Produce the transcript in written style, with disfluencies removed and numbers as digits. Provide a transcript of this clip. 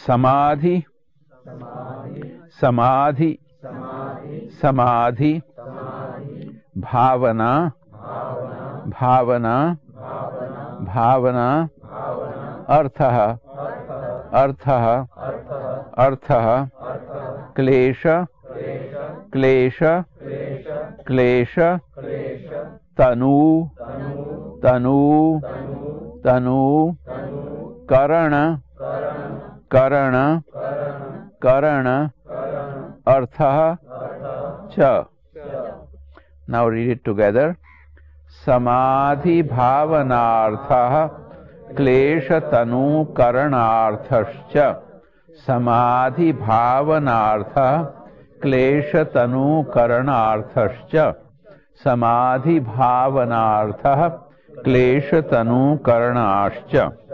समाधि समाधि समाधि भावना भावना भावना अर्थः अर्थः अर्थः क्लेश क्लेश क्लेश तनु तनु तनु करण करण करण अर्थः च. Now read it together. समाधि भावनार्थः क्लेश तनु करणार्थश्च. समाधि भावनार्थः क्लेश तनु करणार्थश्च. समाधि भावनार्थः क्लेश तनु करणाश्च.